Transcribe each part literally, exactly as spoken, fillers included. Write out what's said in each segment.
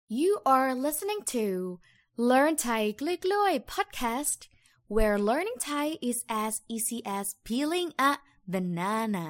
You are listening to Learn Thai กล้วยๆ podcast where learning Thai is as easy as peeling a banana.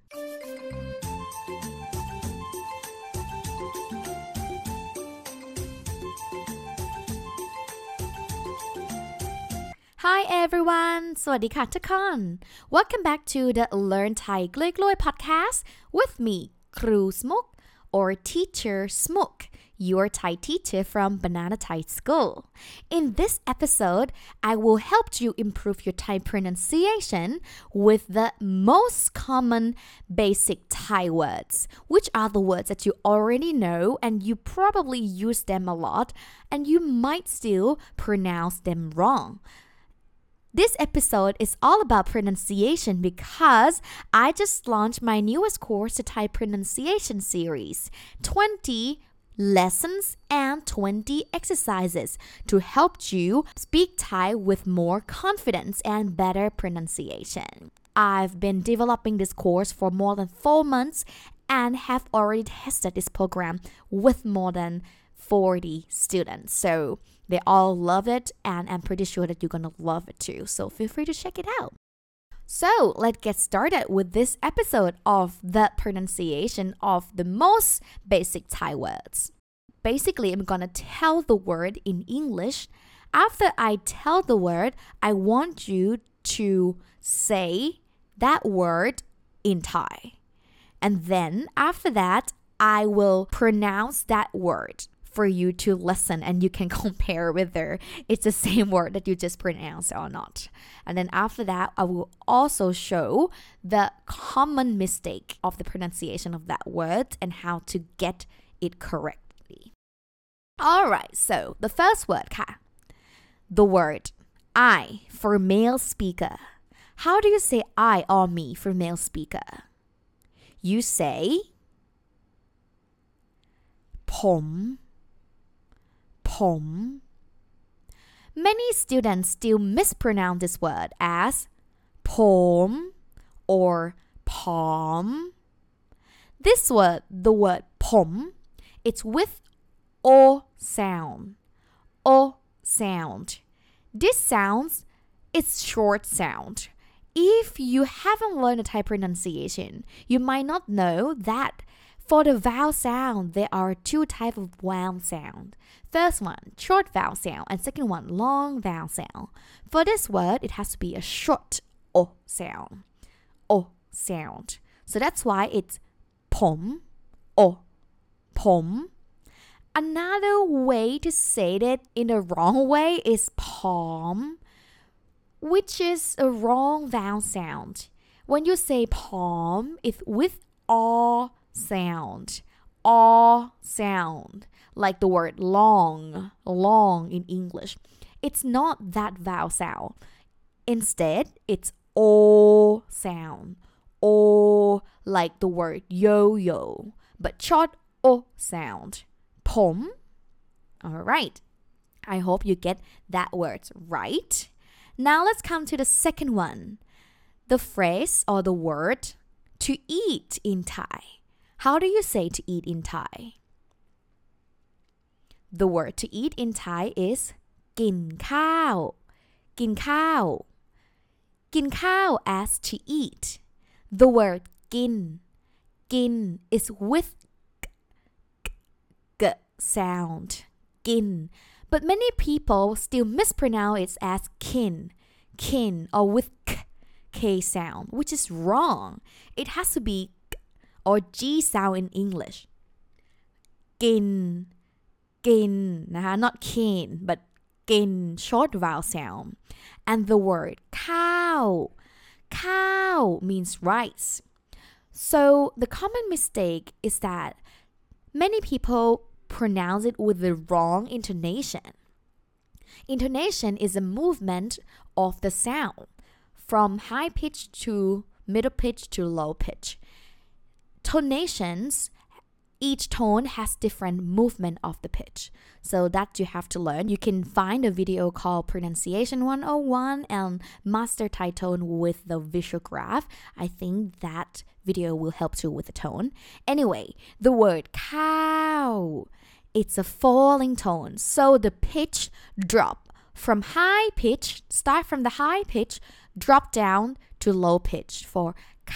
Hi everyone สวัสดีค่ะทุกคน Welcome back to the Learn Thai กล้วยๆ podcast with me ครูสมุก or teacher Smook.Your Thai teacher from Banana Thai School. In this episode, I will help you improve your Thai pronunciation with the most common basic Thai words, which are the words that you already know and you probably use them a lot and you might still pronounce them wrong.This episode is all about pronunciation because I just launched my newest course, the Thai pronunciation series, twenty lessons and twenty exercises to help you speak Thai with more confidence and better pronunciation. I've been developing this course for more than four months and have already tested this program with more than forty students. So they all love it and I'm pretty sure that you're gonna love it too. So feel free to check it out. So let's get started with this episode of the pronunciation of the most basic Thai words. Basically, I'm gonna tell the word in English. After I tell the word, I want you to say that word in Thai. And then after that, I will pronounce that word.for you to listen and you can compare whether it's the same word that you just pronounced or not. And then after that, I will also show the common mistake of the pronunciation of that word and how to get it correctly. Alright, so the first word ค่ะ The word I for male speaker. How do you say I or me for male speaker? You say ผมผม Many students still mispronounce this word as ผม or ผอม This word, the word ผม it's with o sound. O sound. This sounds, it's short sound. If you haven't learned a Thai pronunciation, you might not know that.For the vowel sound, there are two types of vowel sound. First one, short vowel sound, and second one, long vowel sound. For this word, it has to be a short o sound. O sound. So that's why it's ผม o ผม Another way to say it in the wrong way is ผอม which is a wrong vowel sound. When you say ผอม, it's with all sound all sound like the word long long in English it's not that vowel sound instead it's o sound o like the word yo-yo but short o sound ผม alright I hope you get that word right now let's come to the second one the phrase or the word to eat in Thai.How do you say to eat in Thai? The word to eat in Thai is กินข้าว กินข้าว กินข้าว as to eat. The word กิน กิน is with g, g, g sound. กิน But many people still mispronounce it as kin, kin, or with k, k sound, which is wrong. It has to be or G sound in English กิน กิน นะคะ not kin but กิน short vowel sound and the word ข้าว ข้าว means rice so the common mistake is that many people pronounce it with the wrong intonation intonation is a movement of the sound from high pitch to middle pitch to low pitch Tonations, each tone has different movement of the pitch. So that you have to learn. You can find a video called Pronunciation one oh one and Master Thai Tone with the visual graph. I think that video will help you with the tone. Anyway, the word cow it's a falling tone. So the pitch drop from high pitch, start from the high pitch, drop down to low pitch for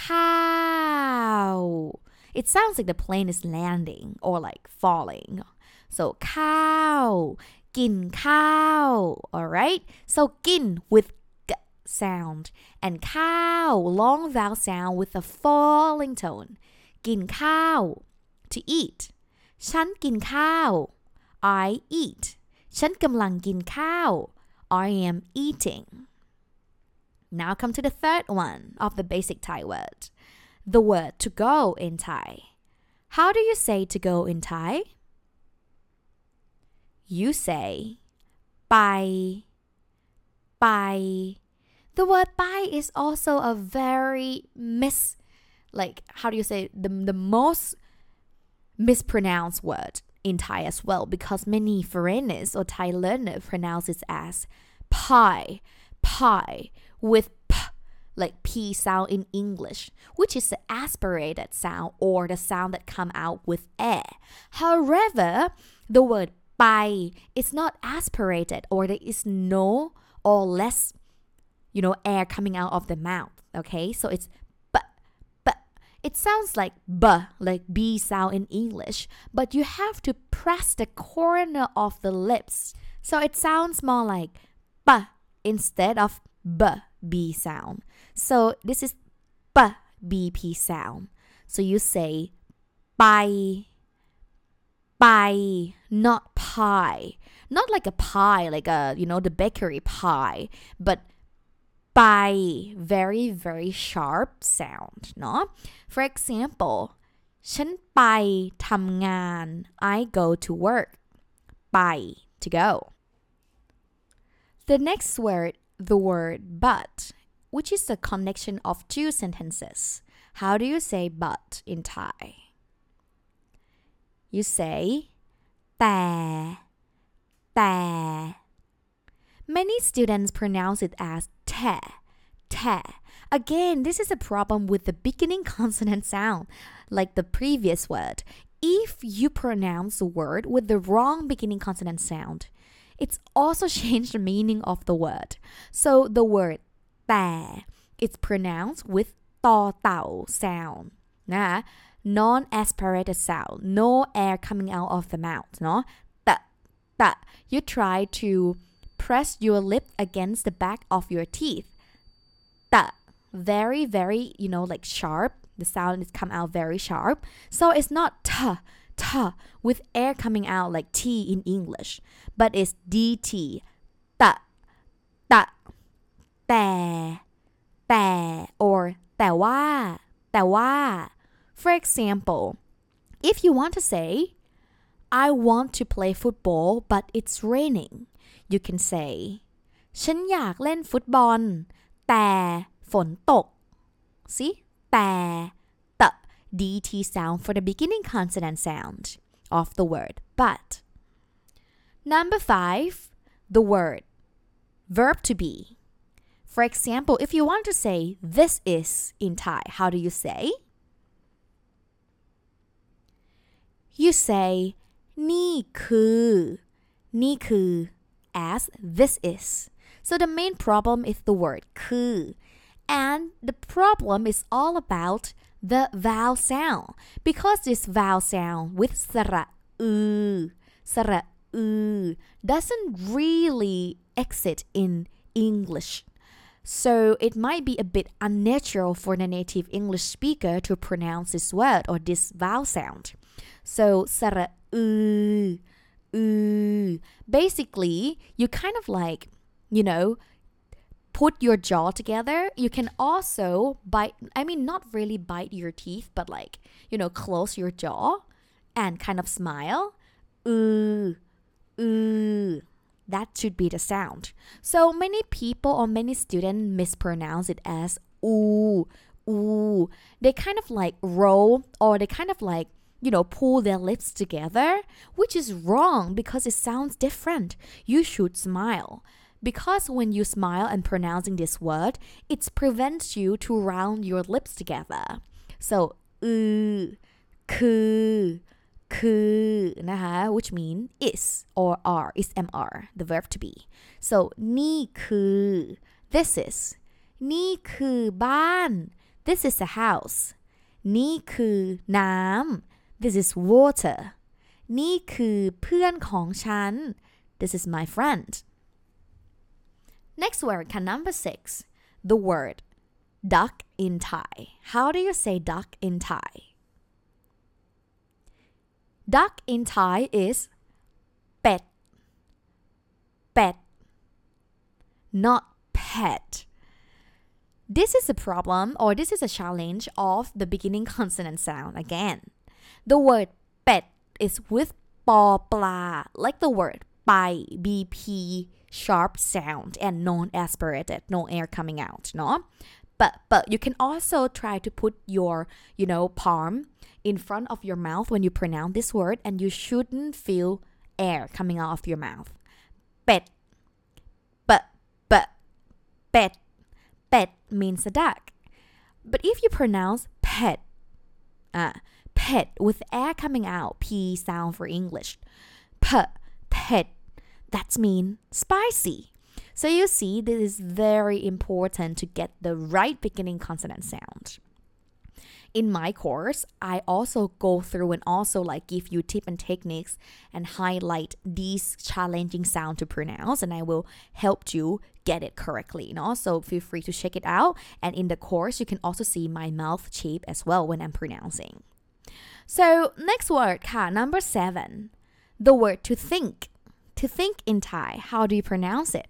cow. It sounds like the plane is landing or like falling. So cow, กินข้าว alright? So กิน with g sound and cow, long vowel sound with a falling tone. กินข้าว to eat. ฉันกินข้าว I eat. ฉันกำลังกินข้าว I am eating. Now come to the third one of the basic Thai word. The word to go in Thai. How do you say to go in Thai? You say ไป ไป The word ไป is also a very mis like how do you say the the most mispronounced word in Thai as well because many foreigners or Thai learners pronounce it as pie, pie with p like p sound in English, which is the aspirated sound or the sound that come out with air. However, the word ไป is not aspirated or there is no or less, you know, air coming out of the mouth. Okay, so it's b, b. It sounds like b, like b sound in English, but you have to press the corner of the lips. So it sounds more like b instead of b, b sound. So this is b, bp sound. So you say ไป ไป not pie. Not like a pie, like a, you know, the bakery pie, but ไป very very sharp sound เนาะ For example ฉันไปทำงาน I go to work ไป to go. The next word, the word but, which is the connection of two sentences. How do you say but in Thai? You say แต่ แต่ Many students pronounce it as แท แท Again, this is a problem with the beginning consonant sound, like the previous word. If you pronounce the word with the wrong beginning consonant sound, it's also changed the meaning of the word. So the word แต่ it's pronounced with ต่อเต่า sound นะ non-aspirated sound, no air coming out of the mouth เนาะ แต่ แต่ you try to press your lip against the back of your teeth แต่ very very you know like sharp, the sound is come out very sharp, so it's not t, t with air coming out like t in English, but it's dt แต่ แต่ แต่ แต่ or แต่ว่า แต่ว่า For example, if you want to say I want to play football but it's raining, you can say ฉันอยากเล่นฟุตบอลแต่ฝนตก See? แต่ the dt sound for the beginning consonant sound of the word but. Number five, the word verb to be. For example, if you want to say this is in Thai, how do you say? You say นี่คือ นี่คือ as this is. So the main problem is the word คือ and the problem is all about the vowel sound because this vowel sound with สระอือ สระอือ doesn't really exit in English. So it might be a bit unnatural for the native English speaker to pronounce this word or this vowel sound. So สระอือ อือ basically you kind of like, you know, put your jaw together. You can also bite, I mean not really bite your teeth, but like, you know, close your jaw and kind of smile. อือ อือ. That should be the sound. So many people or many students mispronounce it as ooh, ooh. They kind of like roll or they kind of like, you know, pull their lips together, which is wrong because it sounds different. You should smile. Because when you smile and pronouncing this word, it prevents you to round your lips together. So, อือ คือคือนะคะ which mean is or are is mr the verb to be so นี่คือ this is นี่คือบ้าน this is a house นี่คือน้ำ this is water นี่คือเพื่อนของฉัน this is my friend next word ค่ะ number six the word duck in Thai how do you say duck in Thai duck in Thai is เป็ด เป็ด not pet this is a problem or this is a challenge of the beginning consonant sound again the word เป็ด is with ปอปลา like the word ไป bp sharp sound and non-aspirated no air coming out เนาะ but but you can also try to put your you know palm in front of your mouth when you pronounce this word and you shouldn't feel air coming out of your mouth เป็ด but but เป็ด เป็ด means a duck but if you pronounce pet uh, pet with air coming out p sound for English p pet that means spicy so you see this is very important to get the right beginning consonant sound in my course I also go through and also like give you tips and techniques and highlight these challenging sounds to pronounce and I will help you get it correctly and also feel free to check it out and in the course you can also see my mouth shape as well when I'm pronouncing so next word ค่ะ number seven the word to think to think in Thai how do you pronounce it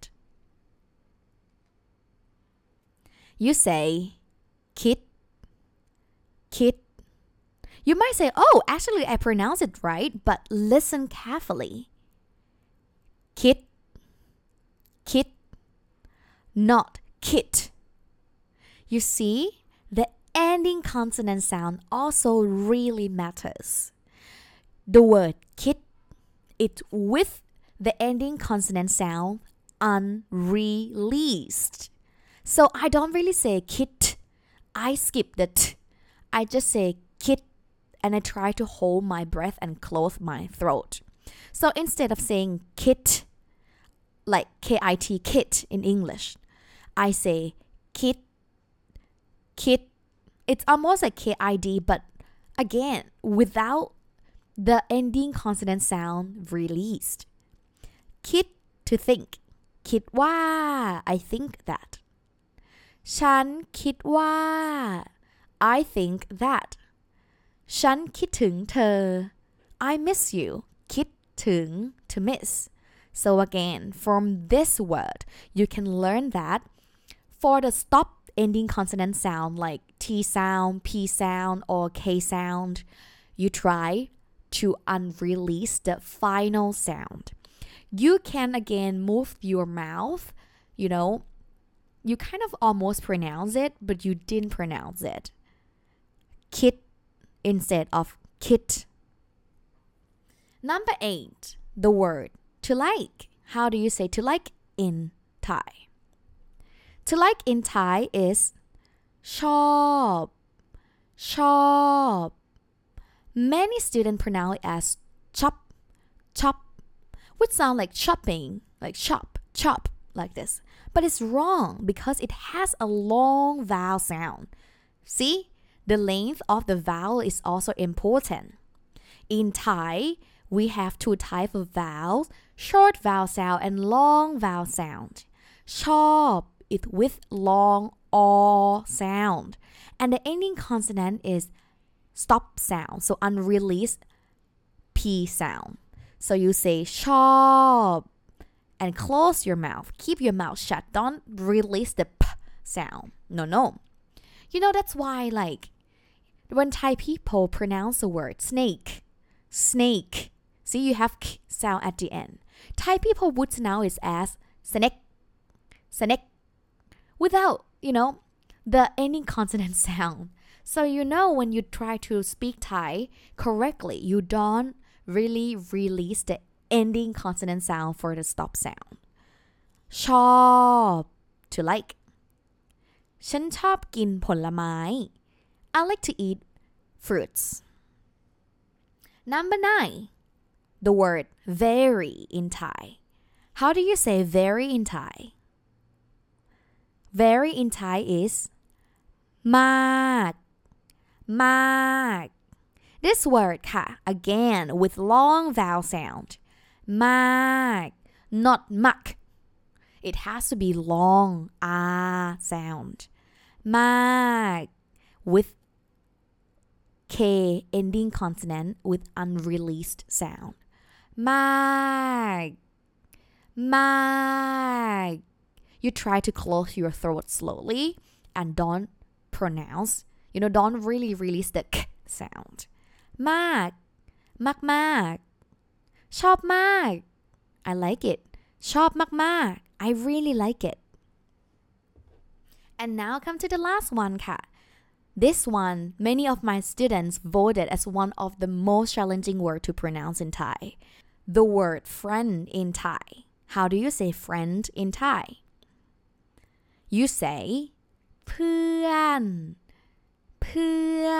you say คิดคิด you might say oh actually I pronounce it right but listen carefully คิดคิด not kit you see the ending consonant sound also really matters the word คิด it with the ending consonant sound unreleased so I don't really say kit I skip the t I just say kit and I try to hold my breath and close my throat so instead of saying kit like K-I-T kit in English I say kit kit it's almost like K-I-D but again without the ending consonant sound releasedคิด to think คิดว่า I think that ฉันคิดว่า I think that ฉันคิดถึงเธอ I miss you คิดถึง to miss so again from this word you can learn that for the stop ending consonant sound like T sound P sound or K sound you try to unrelease the final sound you can again move your mouth you know you kind of almost pronounce it but you didn't pronounce it kit instead of kit number eight the word to like how do you say to like in Thai to like in Thai is ชอบชอบ many students pronounce it as chop chop which sound like chopping like chop chop like this but it's wrong because it has a long vowel sound see the length of the vowel is also important in Thai we have two types of vowels short vowel sound and long vowel sound ชอบ it with long o sound and the ending consonant is stop sound so unreleased p sound so you say ชอบ and close your mouth keep your mouth shut don't release the p sound no no you know that's why like when Thai people pronounce the word snake snake see you have k sound at the end Thai people would pronounce it as snake snake without you know the ending consonant sound so you know when you try to speak Thai correctly you don't really release the ending consonant sound for the stop sound ชอบ to like ฉันชอบกินผลไม้ I like to eat fruits Number nine, the word very in Thai. How do you say very in Thai? Very in Thai is มาก มาก This word ค่ะ again with long vowel sound มาก not muck. It has to be long ah sound มาก with K ending consonant with unreleased sound มาก มาก You try to close your throat slowly and don't pronounce, you know, don't really release the k sound มาก มากมากชอบมาก I like it ชอบมากมาก I really like it. And now come to the last one ค่ะ This one, many of my students voted as one of the most challenging word to pronounce in Thai. The word friend in Thai. How do you say friend in Thai? You say เพื่อน เพื่อน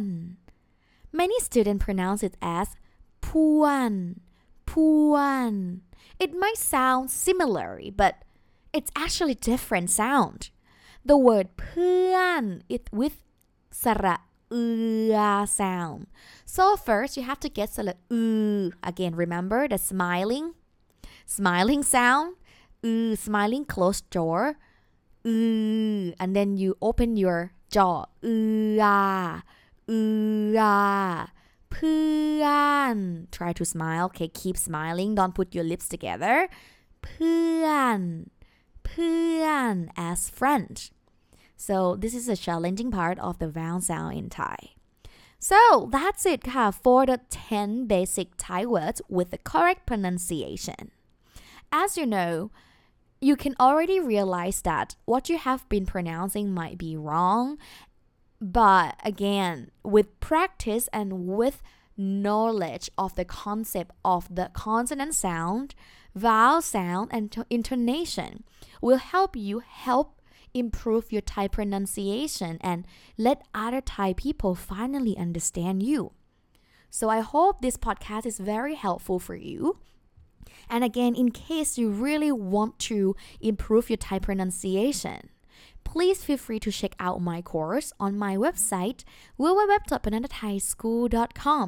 Many students pronounce it as พ่วน พ่วน It might sound similar, but it's actually different sound. The word เพื่อน is with สระอือ sound. So first you have to get สระอือ Again, remember the smiling, smiling sound. อือ smiling closed jaw. อือ and then you open your jaw. อือ อือ เพื่อน Try to smile. Okay, keep smiling. Don't put your lips together. เพื่อน เพื่อน as friend. So this is a challenging part of the vowel sound in Thai. So that's it ค่ะ for the ten basic Thai words with the correct pronunciation. As you know, you can already realize that what you have been pronouncing might be wrong. But again, with practice and with knowledge of the concept of the consonant sound, vowel sound, and intonation will help you help improve your Thai pronunciation and let other Thai people finally understand you. So I hope this podcast is very helpful for you. And again, in case you really want to improve your Thai pronunciation, please feel free to check out my course on my website w w w dot banana thai school dot com.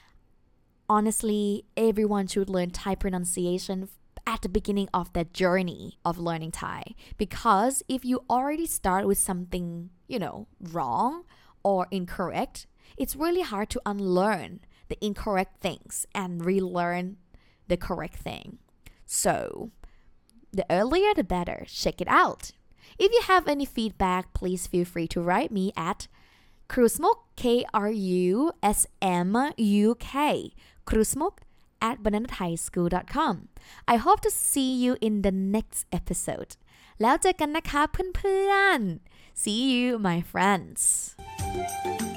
Honestly, everyone should learn Thai pronunciation at the beginning of their journey of learning Thai. Because if you already start with something, you know, wrong or incorrect, it's really hard to unlearn the incorrect things and relearn the correct thing. So, the earlier the better. Check it out. If you have any feedback, please feel free to write me at krusmuk, K R U S M U K, krusmuk at banana thai school dot com. I hope to see you in the next episode. แล้วเจอกันนะคะเพื่อนๆ See you, my friends.